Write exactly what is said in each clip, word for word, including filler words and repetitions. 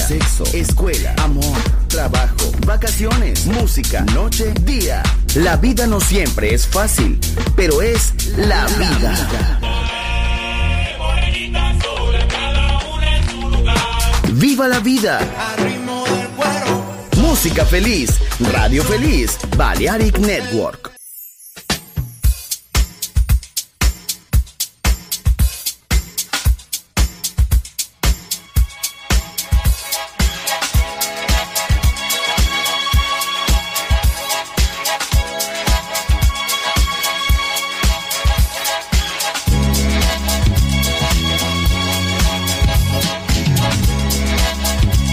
sexo, escuela, amor, trabajo, vacaciones, música, noche, día. La vida no siempre es fácil, pero es la vida. ¡Viva la vida! Música feliz, radio feliz, Balearic Network.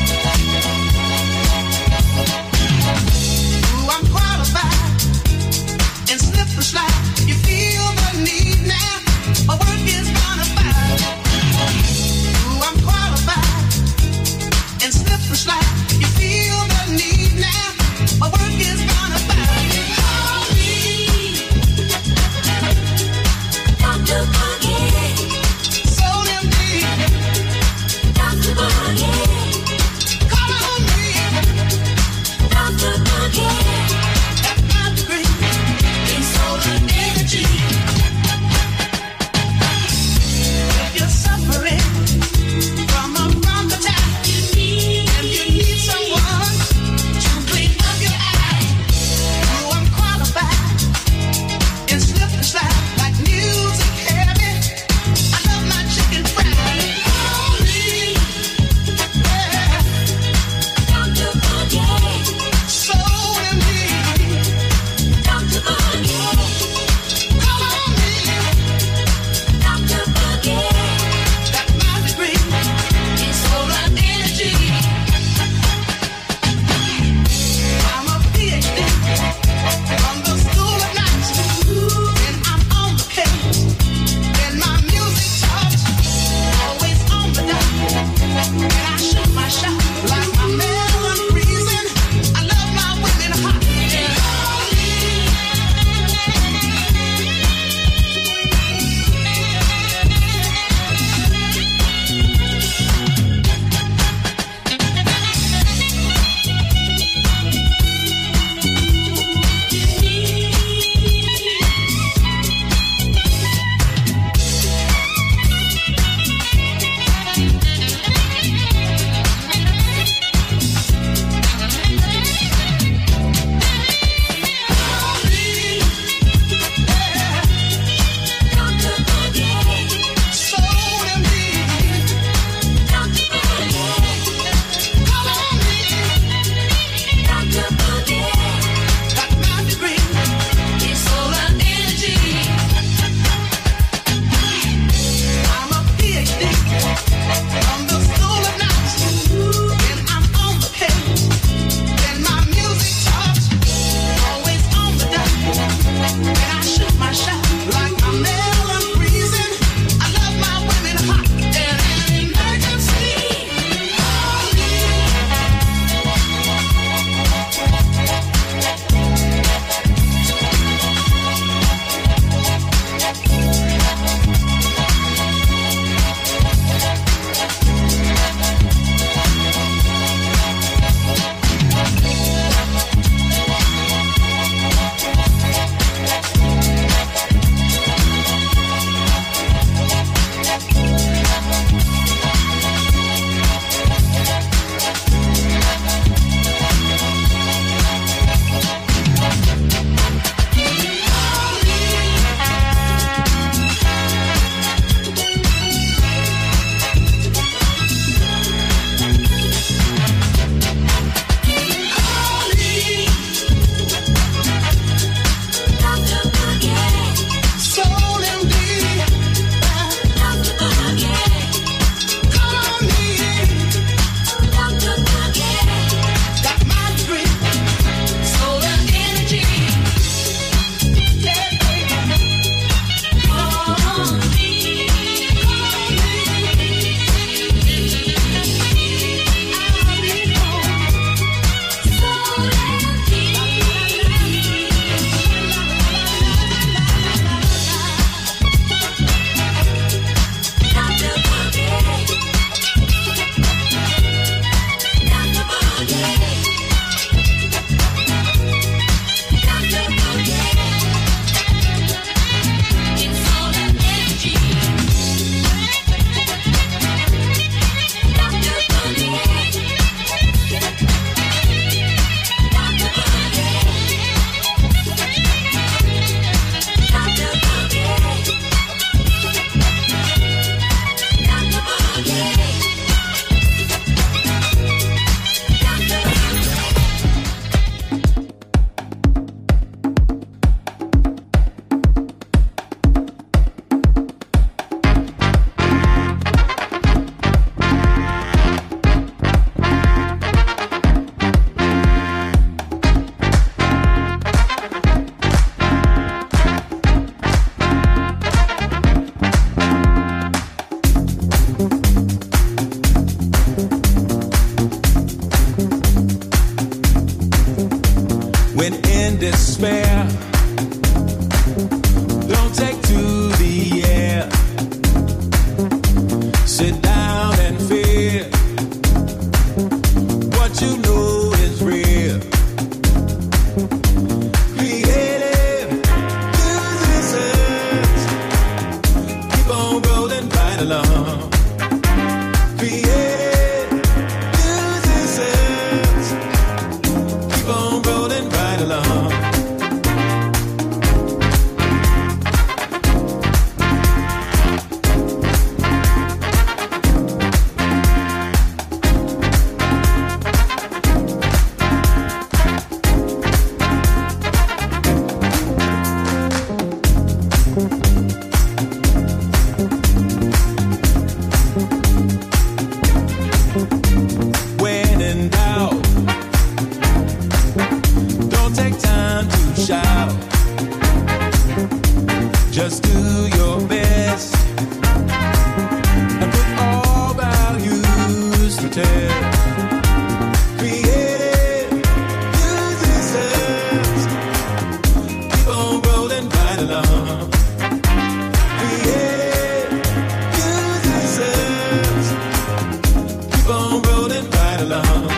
I'm qualified along. Created musicians, keep on rolling right along. Just do your best and put all values to test. Creative musicians, keep on rolling right along. Creative musicians, keep on rolling right along.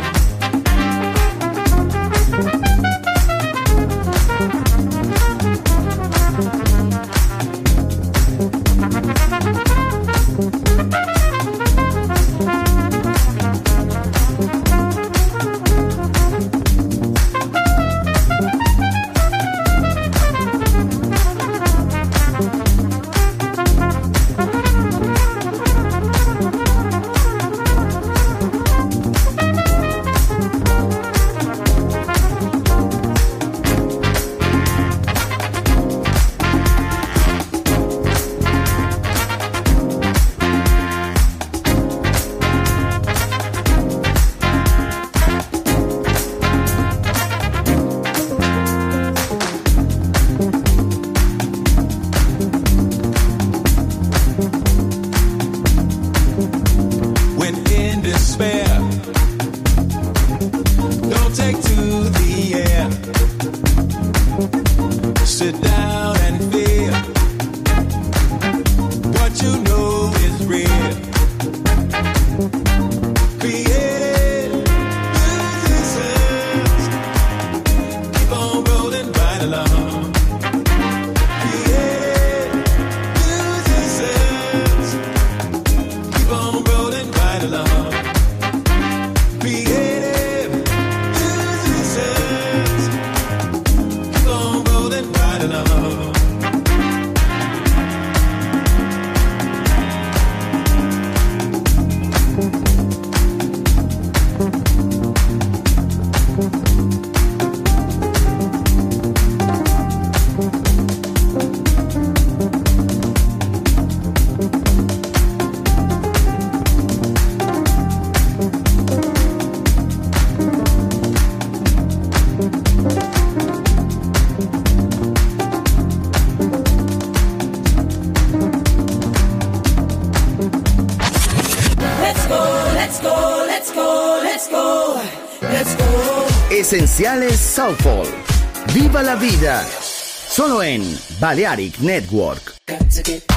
Esenciales Soulful. Viva la vida. Solo en Balearic Network. Got to get,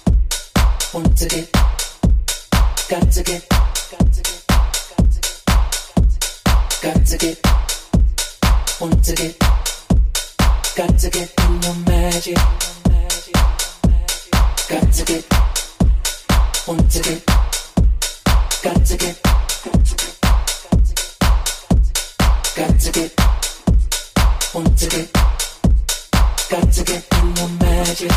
want to get, got to get, got to get, got to get, want to get, got to get in your magic. Got to get, want to get, got to get, got to get, want to get, got to get in your magic.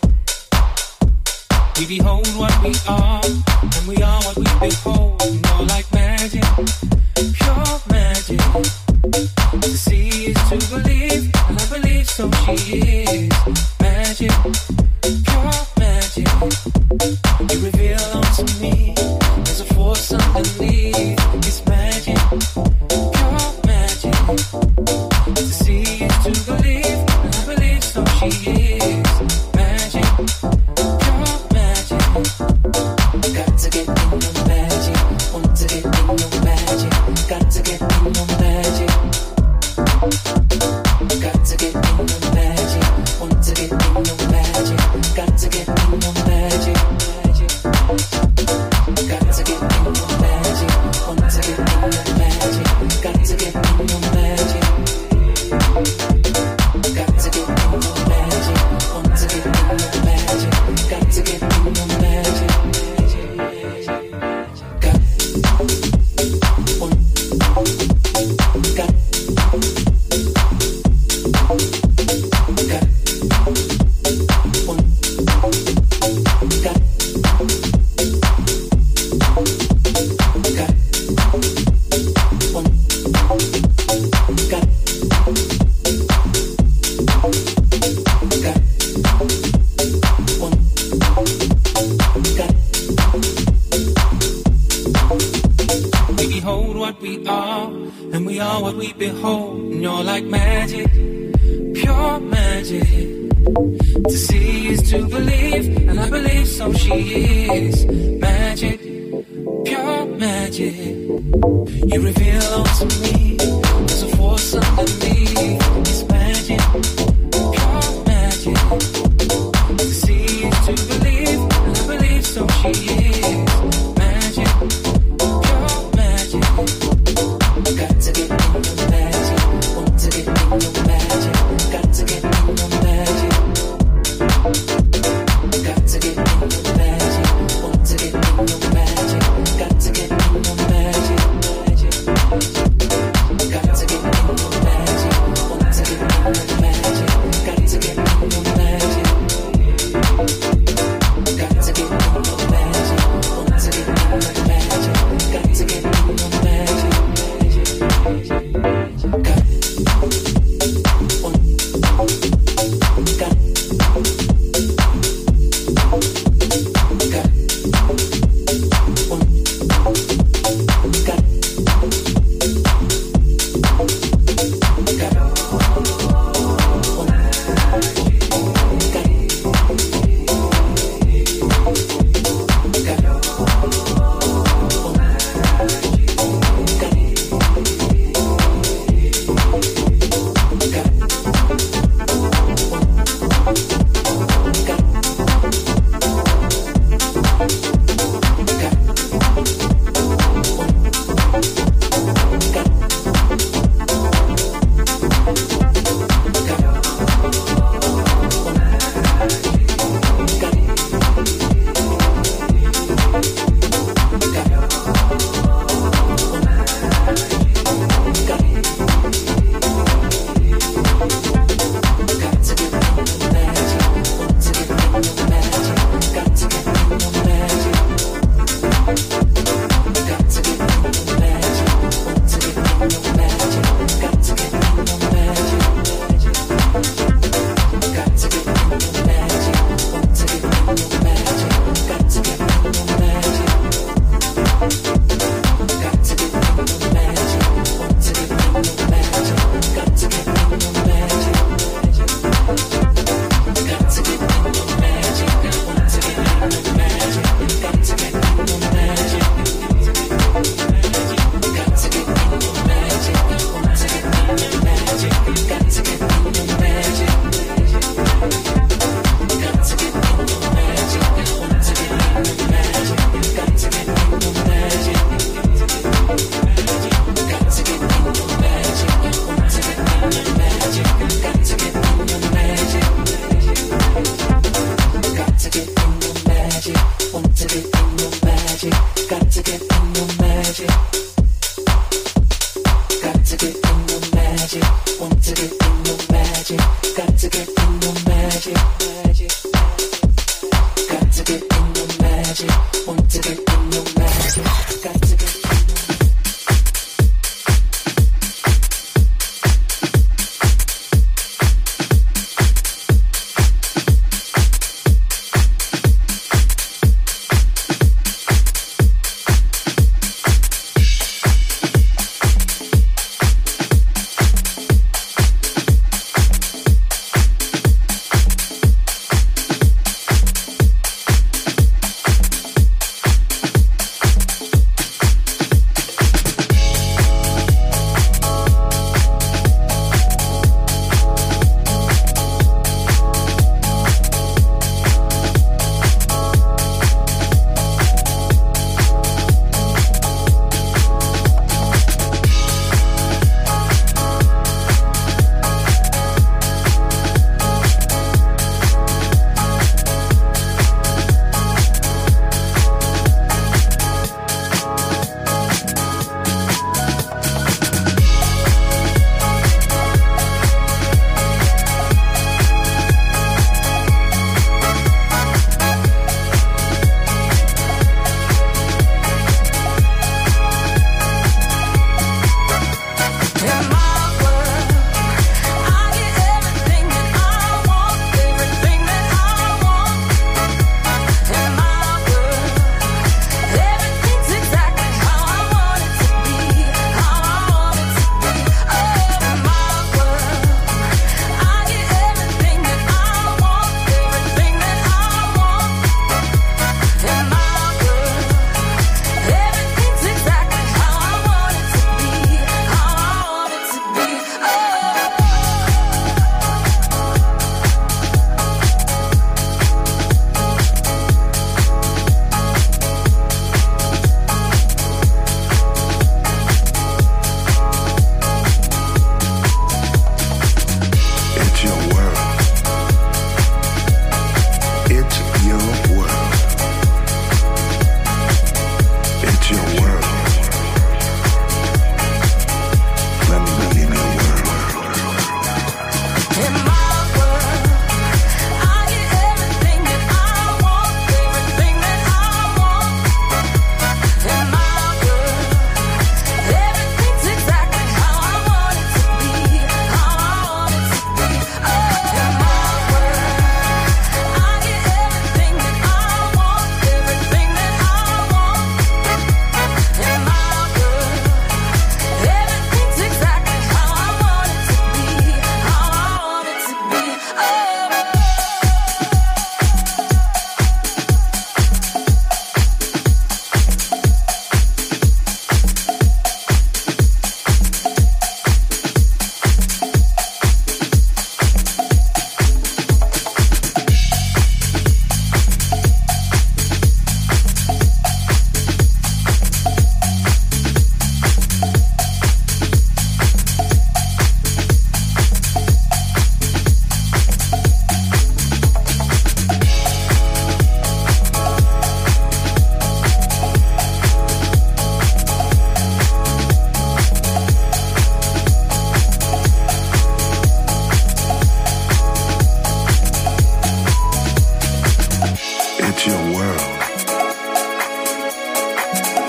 We behold what we are, and we are what we behold. You know, like magic, pure magic. To see is to believe, and I believe so she is. Magic, pure magic. You reveal unto me, there's a force underneath. It's magic, pure magic. To see is to believe, and I believe so she is. Magic, pure magic. Got to get in your magic, want to get in your magic. Got to get in your magic. Got to get in your magic, want to get in your magic. Got to get in your magic, magic. Got to get in your magic, want to get in your magic. Got to get in your magic. Got to get in your magic, want to get in your magic. Got to get in your magic. what we are, and we are what we behold. And you're like magic, pure magic. To see is to believe, and I believe so she is. Magic, pure magic. You reveal onto me, there's a force underneath. It's magic, pure magic. To see is to believe, and I believe so she is. Magic, pure magic. Got to get in your magic, want to get in your magic. Got to get in your magic. Got to get in your magic, want to get in your magic. Got to get in your magic, magic. Got to get in your magic, want to get in your magic. Got to get in your magic. Got to get in your magic, want to get in your magic. Got to get in your magic, magic. Got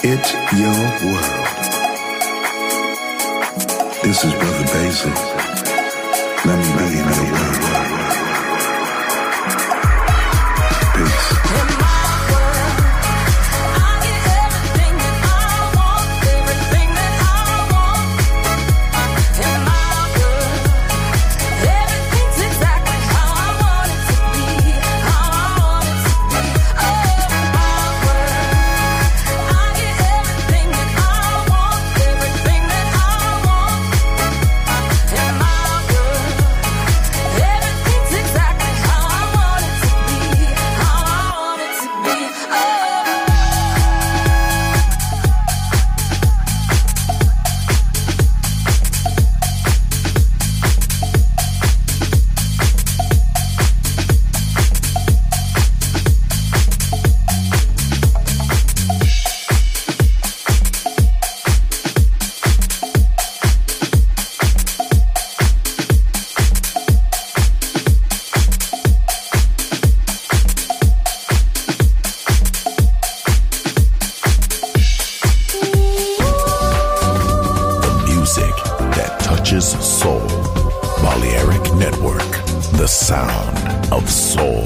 It's your world. This is Brother Basic. Let me be in your world. Peace. In my world, I get everything that I want, everything that I want. In my world, everything's exactly how I want it to be, how I want it to be. Oh, in my world, I get everything that I want, everything that I want. In my world, everything's exactly how I want it to be, how I want it to be. Oh. The music that touches soul. Balearic Network, the sound of soul.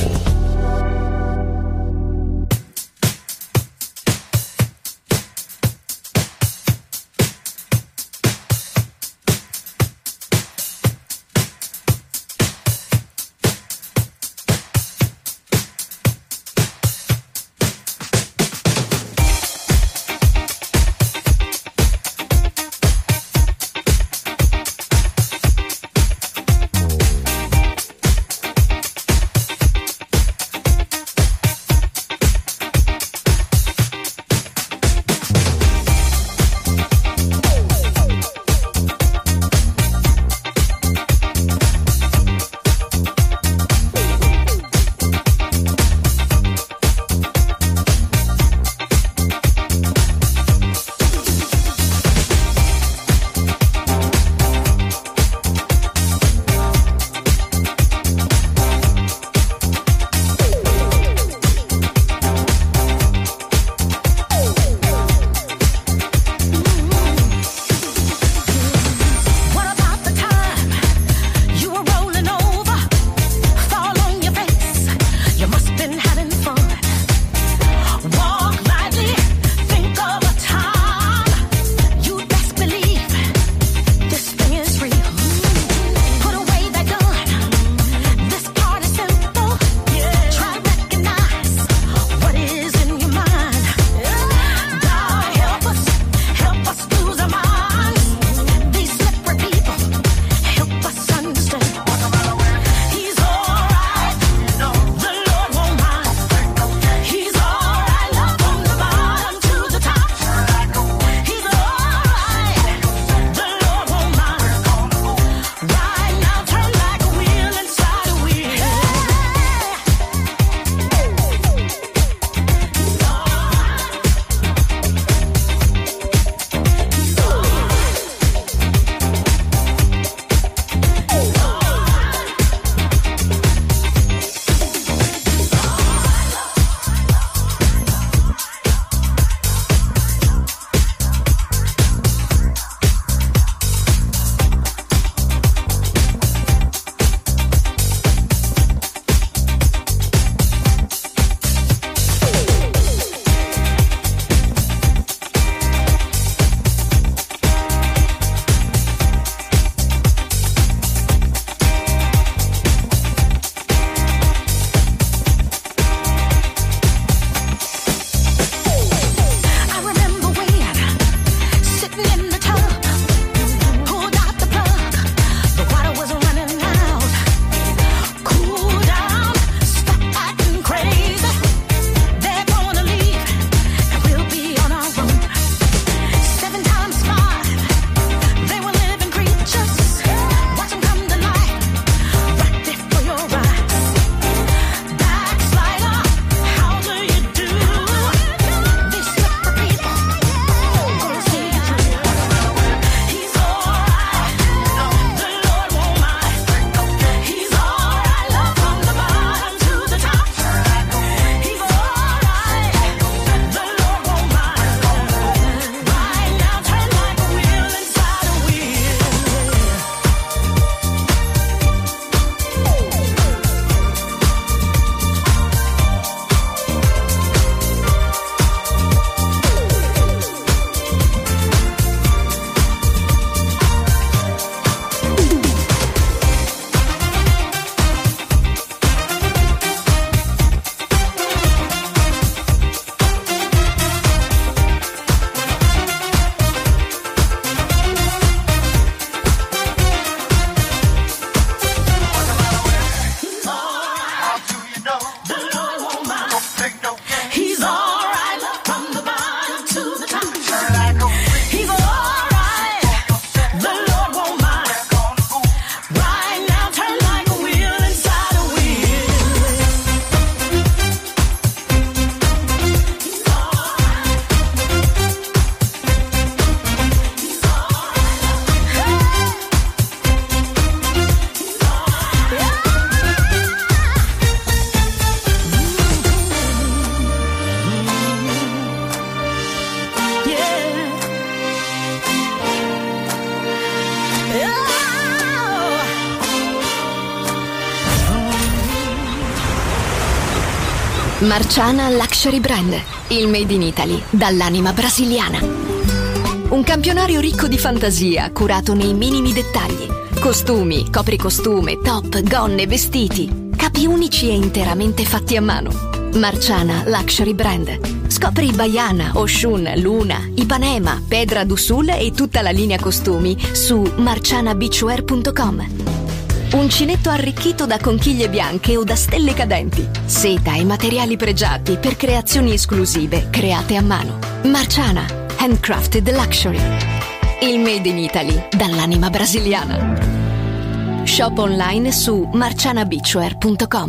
Marciana Luxury Brand, il made in Italy dall'anima brasiliana. Un campionario ricco di fantasia, curato nei minimi dettagli. Costumi, copricostume, top, gonne, vestiti, capi unici e interamente fatti a mano. Marciana Luxury Brand. Scopri Baiana, Oshun, Luna, Ipanema, Pedra do Sul e tutta la linea costumi su marciana beachwear punto com. Uncinetto arricchito da conchiglie bianche o da stelle cadenti. Seta e materiali pregiati per creazioni esclusive create a mano. Marciana, handcrafted luxury. Il made in Italy dall'anima brasiliana. Shop online su marciana beachwear punto com.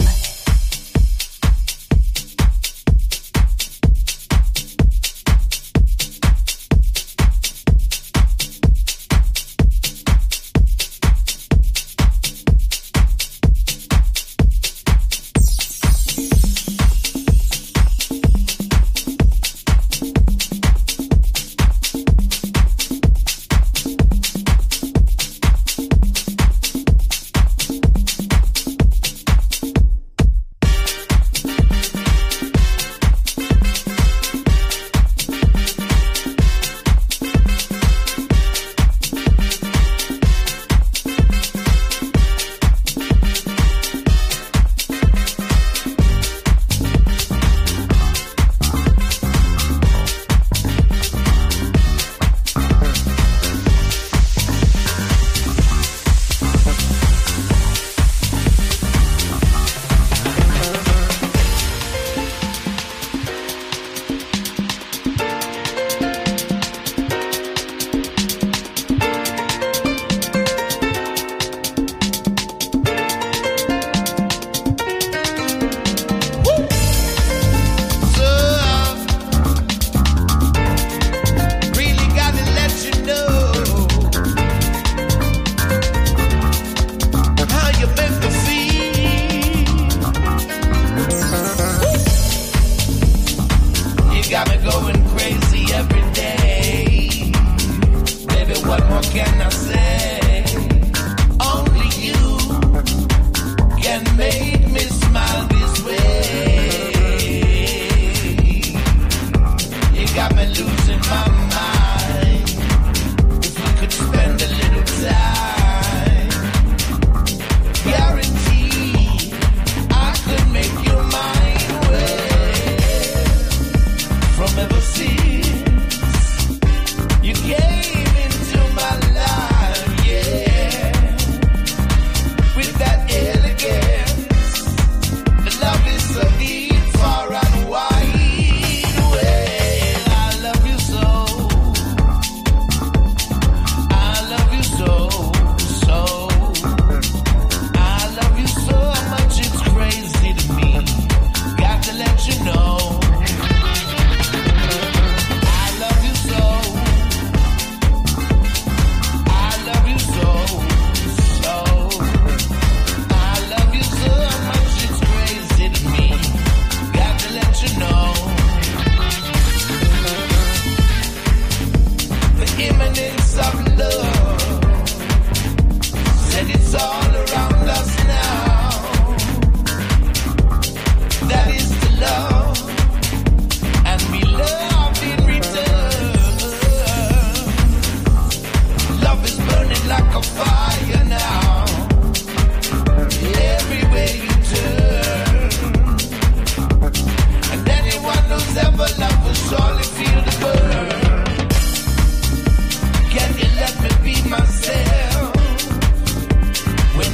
Myself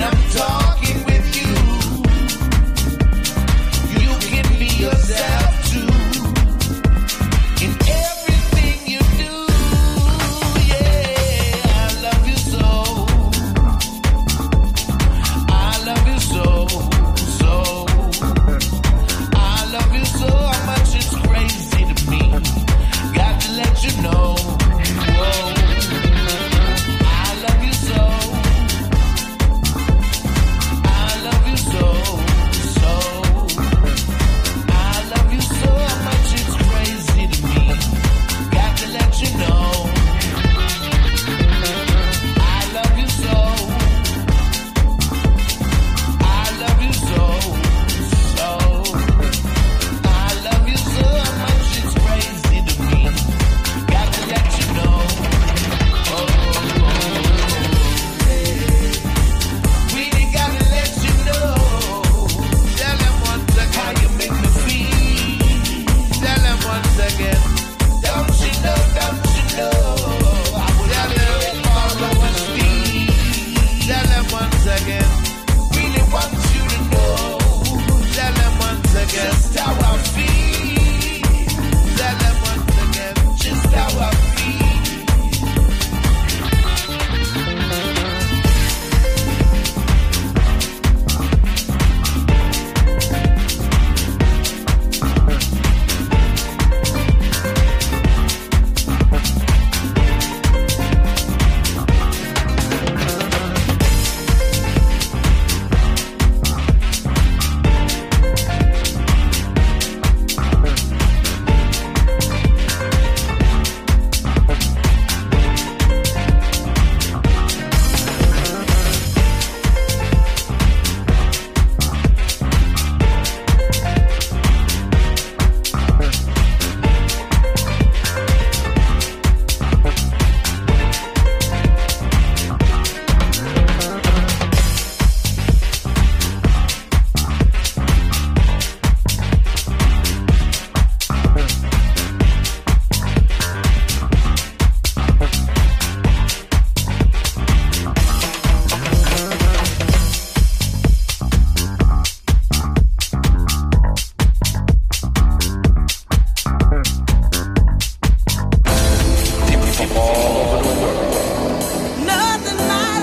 all over the world. Nothing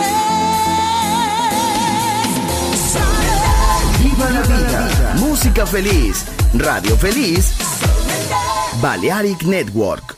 matters. Viva la vida, música feliz, radio feliz, Balearic Network.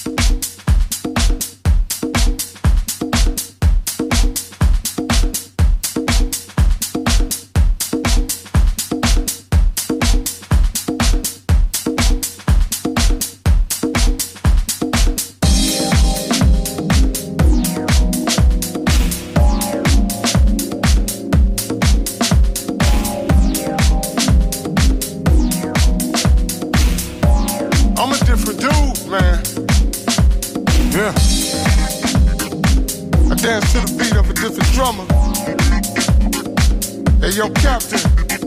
Yo, Captain,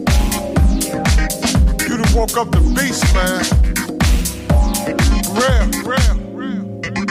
you done woke up the beast, man. Real, real, real.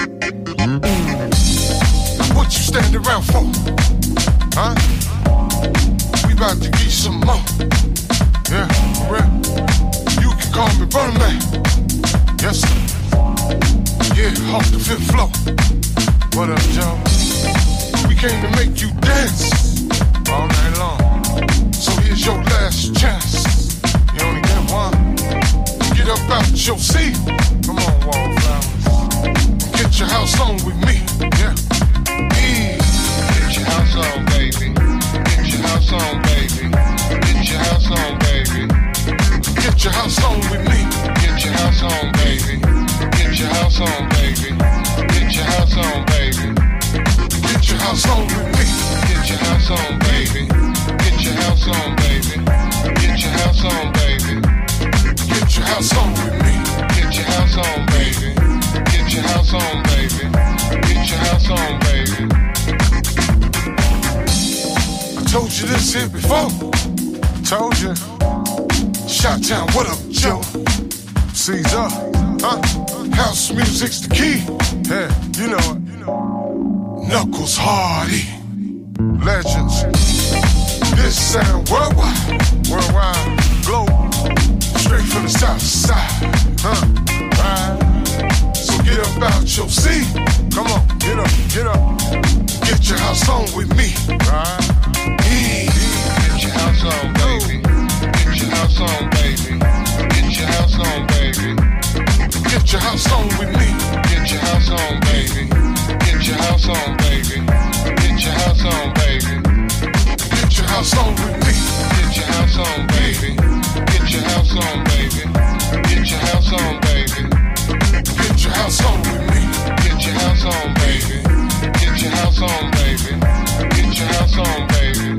What you standing around for? Huh? We about to get some more. Yeah, real. You can call me Burn Man. Yes, sir. Yeah, off the fifth floor. What up, Joe? We came to make you dance all night long. So here's your last chance. You only get one. Get up out your seat. Come on, Wallflowers. Get your house on with me. Yeah. E. Get your house on, baby. Get your house on, baby. Get your house on, baby. Get your house on with me. Get your house on, baby. Get your house on, baby. Get your house on, baby. Get your house on with me. Get your house on, baby. Get your house on, baby. Get your house on, baby. Get your house on with me. Get your house on, baby. Get your house on, baby. Get your house on, baby. I told you this here before. Told you. Shot Town, what up, Joe? Caesar, huh? House music's the key. Yeah, you know it. Knuckles Hardy. Legends. This sound worldwide, worldwide, global, straight from the south side, huh? Right. So get up out your seat. Come on, get up, get up. Get your house on with me, right? E. Get your house on, baby. Get your house on, baby. Get your house on, baby. Get your house on with me. Get your house on, baby. Get your house on, baby. Get your house on, baby. Get your house on with me. Get your house on, baby. Get your house on, baby. Get your house on, baby. Get your house on with me. Get your house on, baby. Get your house on, baby. Get your house on, baby.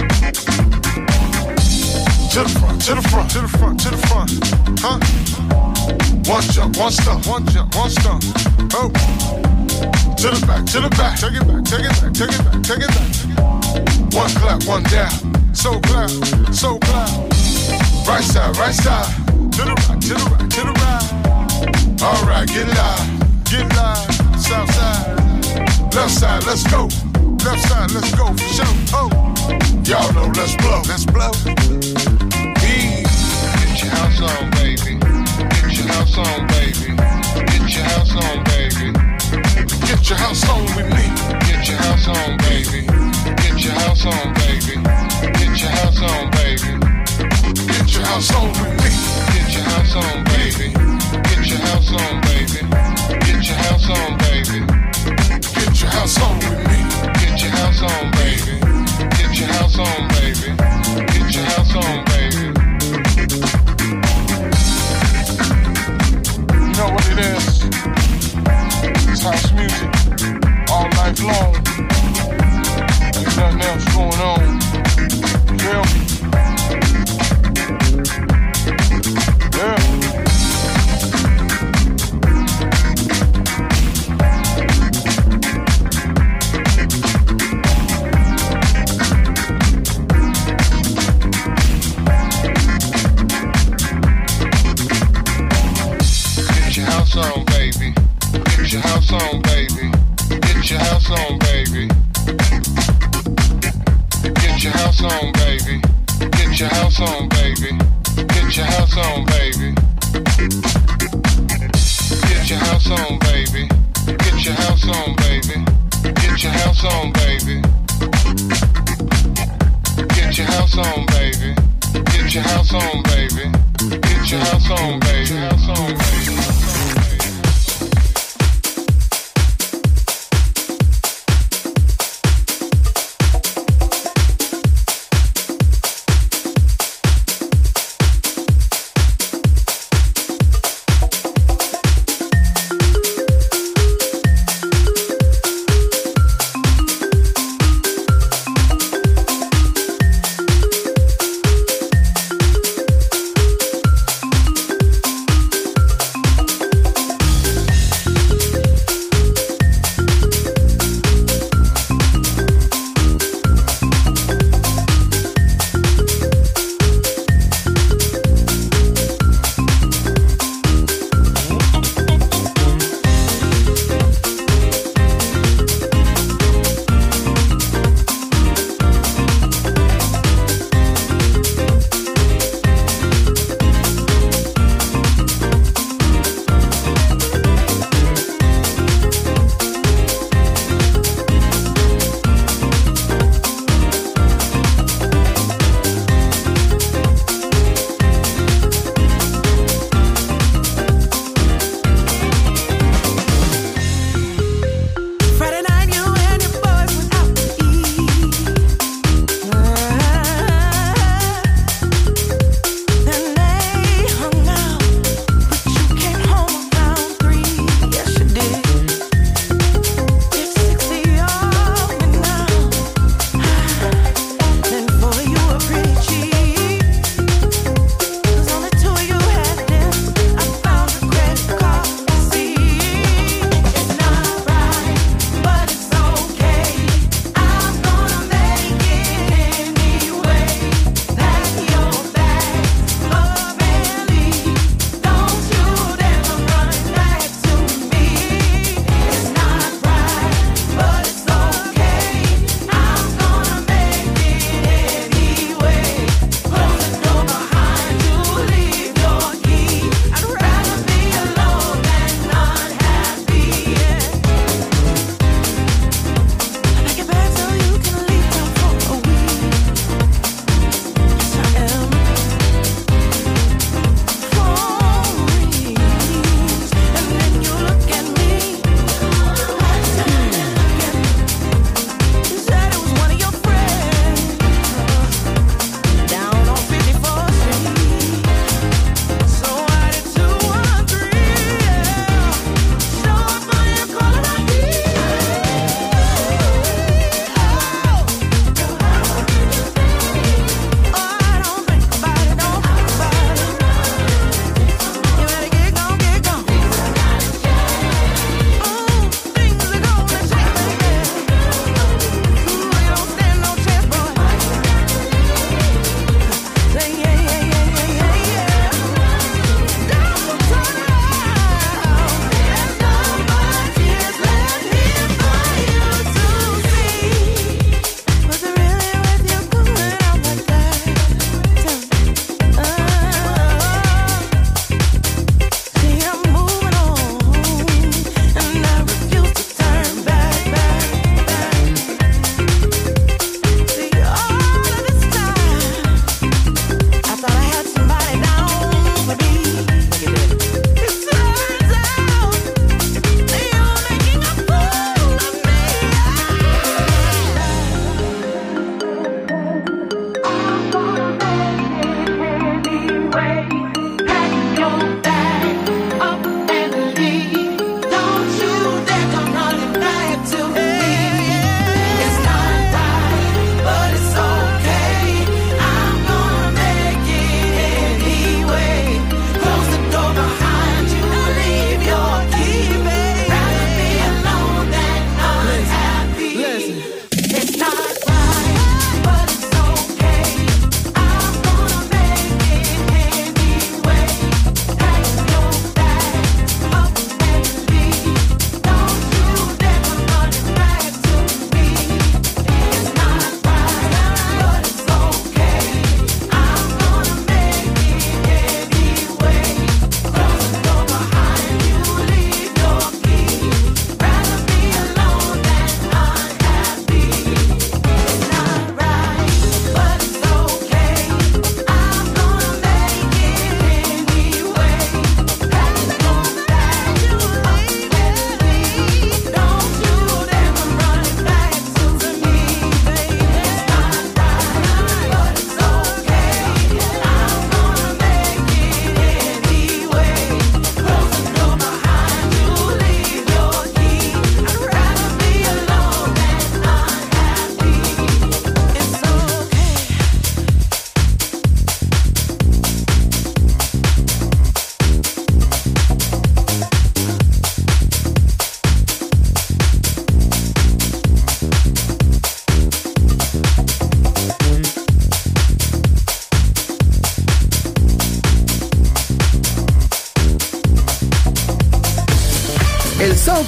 To the front, to the front, to the front, to the front, huh? One jump, one stump, one jump, one stump. Oh, to the back, to the back. Take it back, take it back, take it back, take it back. One clap, one down. So clap, so clap. Right side, right side. To the right, to the right, to the right. All right, get live, get live. South side, left side, let's go. Left side, let's go for sure. Oh, y'all know, let's blow, let's blow. E. Get your house on, baby. Get your house on, baby. Get your house on, baby. Get your house on with me. Get your house on, baby. Get your house on, baby. Get your house on, baby. Get your house on with me. Get your house on, baby. Get your house on, baby. Get your house on, baby. Get your house on with me. Get your house on, baby. Get your house on, baby. Get your house on, baby. You know what it is? It's house music all night long. There's nothing else going on. You feel me? Yeah. Get your house on, baby. Get your house on, baby. Get your house on, baby. Get your house on, baby. Get your house on, baby. Get your house on, baby. Get your house on, baby. Get your house on,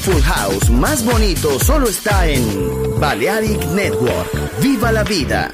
Soulful House más bonito solo está en Balearic Network. ¡Viva la vida!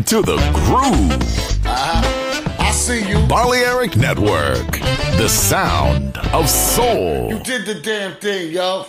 into the groove. Uh-huh. I see you. Balearic Network, the sound of soul. You did the damn thing, yo.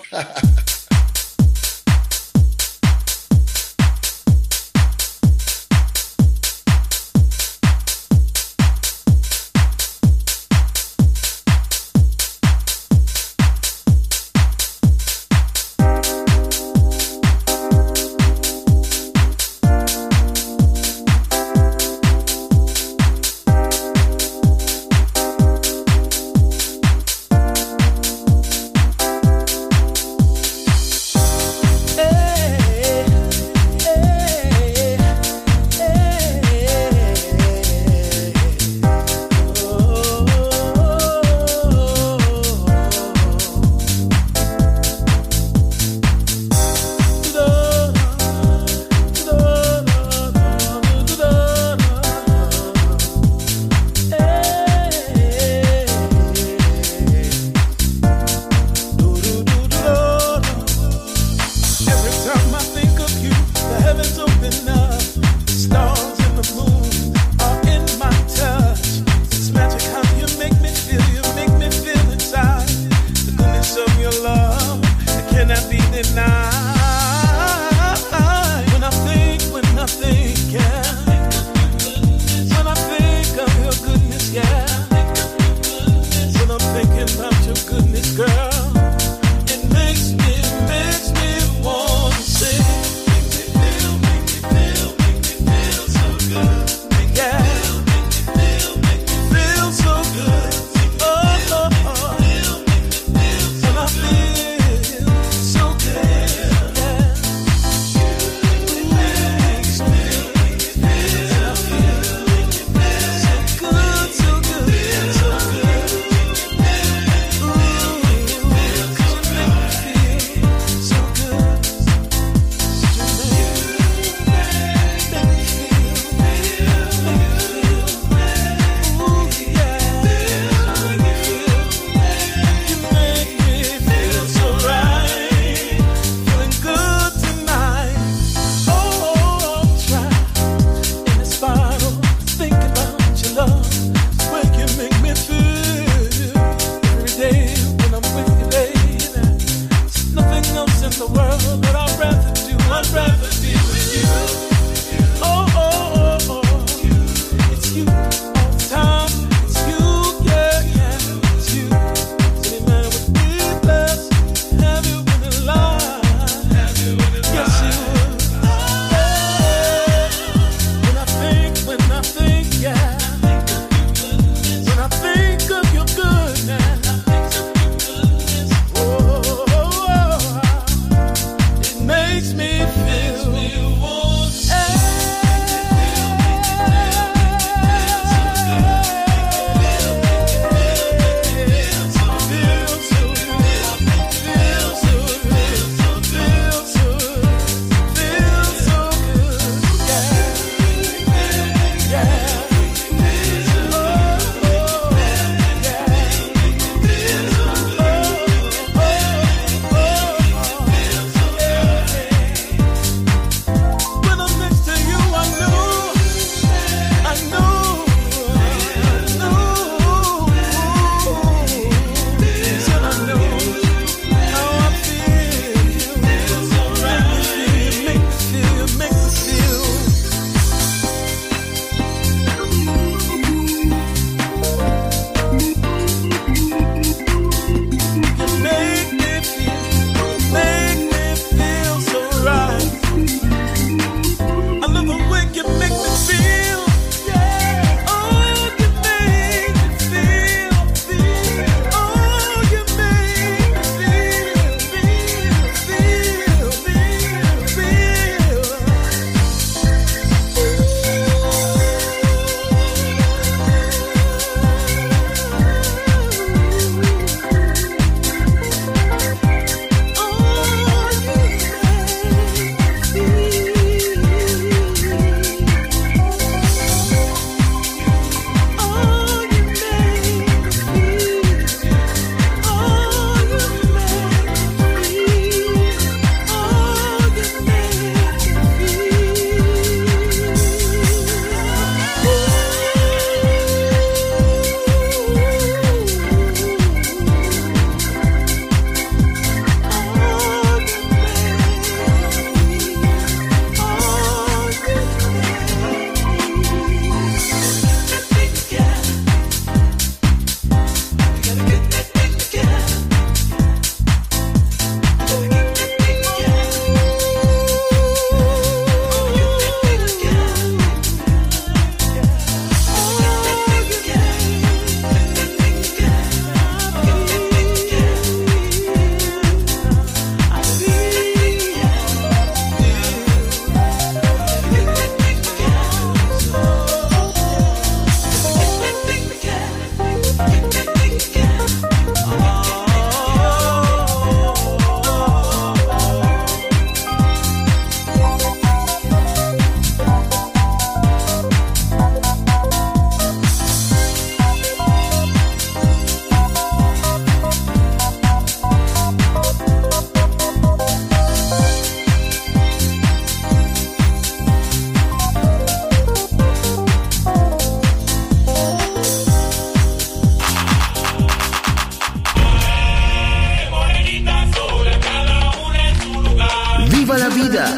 vida.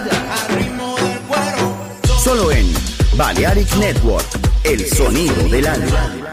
Solo en Balearic Network, el sonido del alma.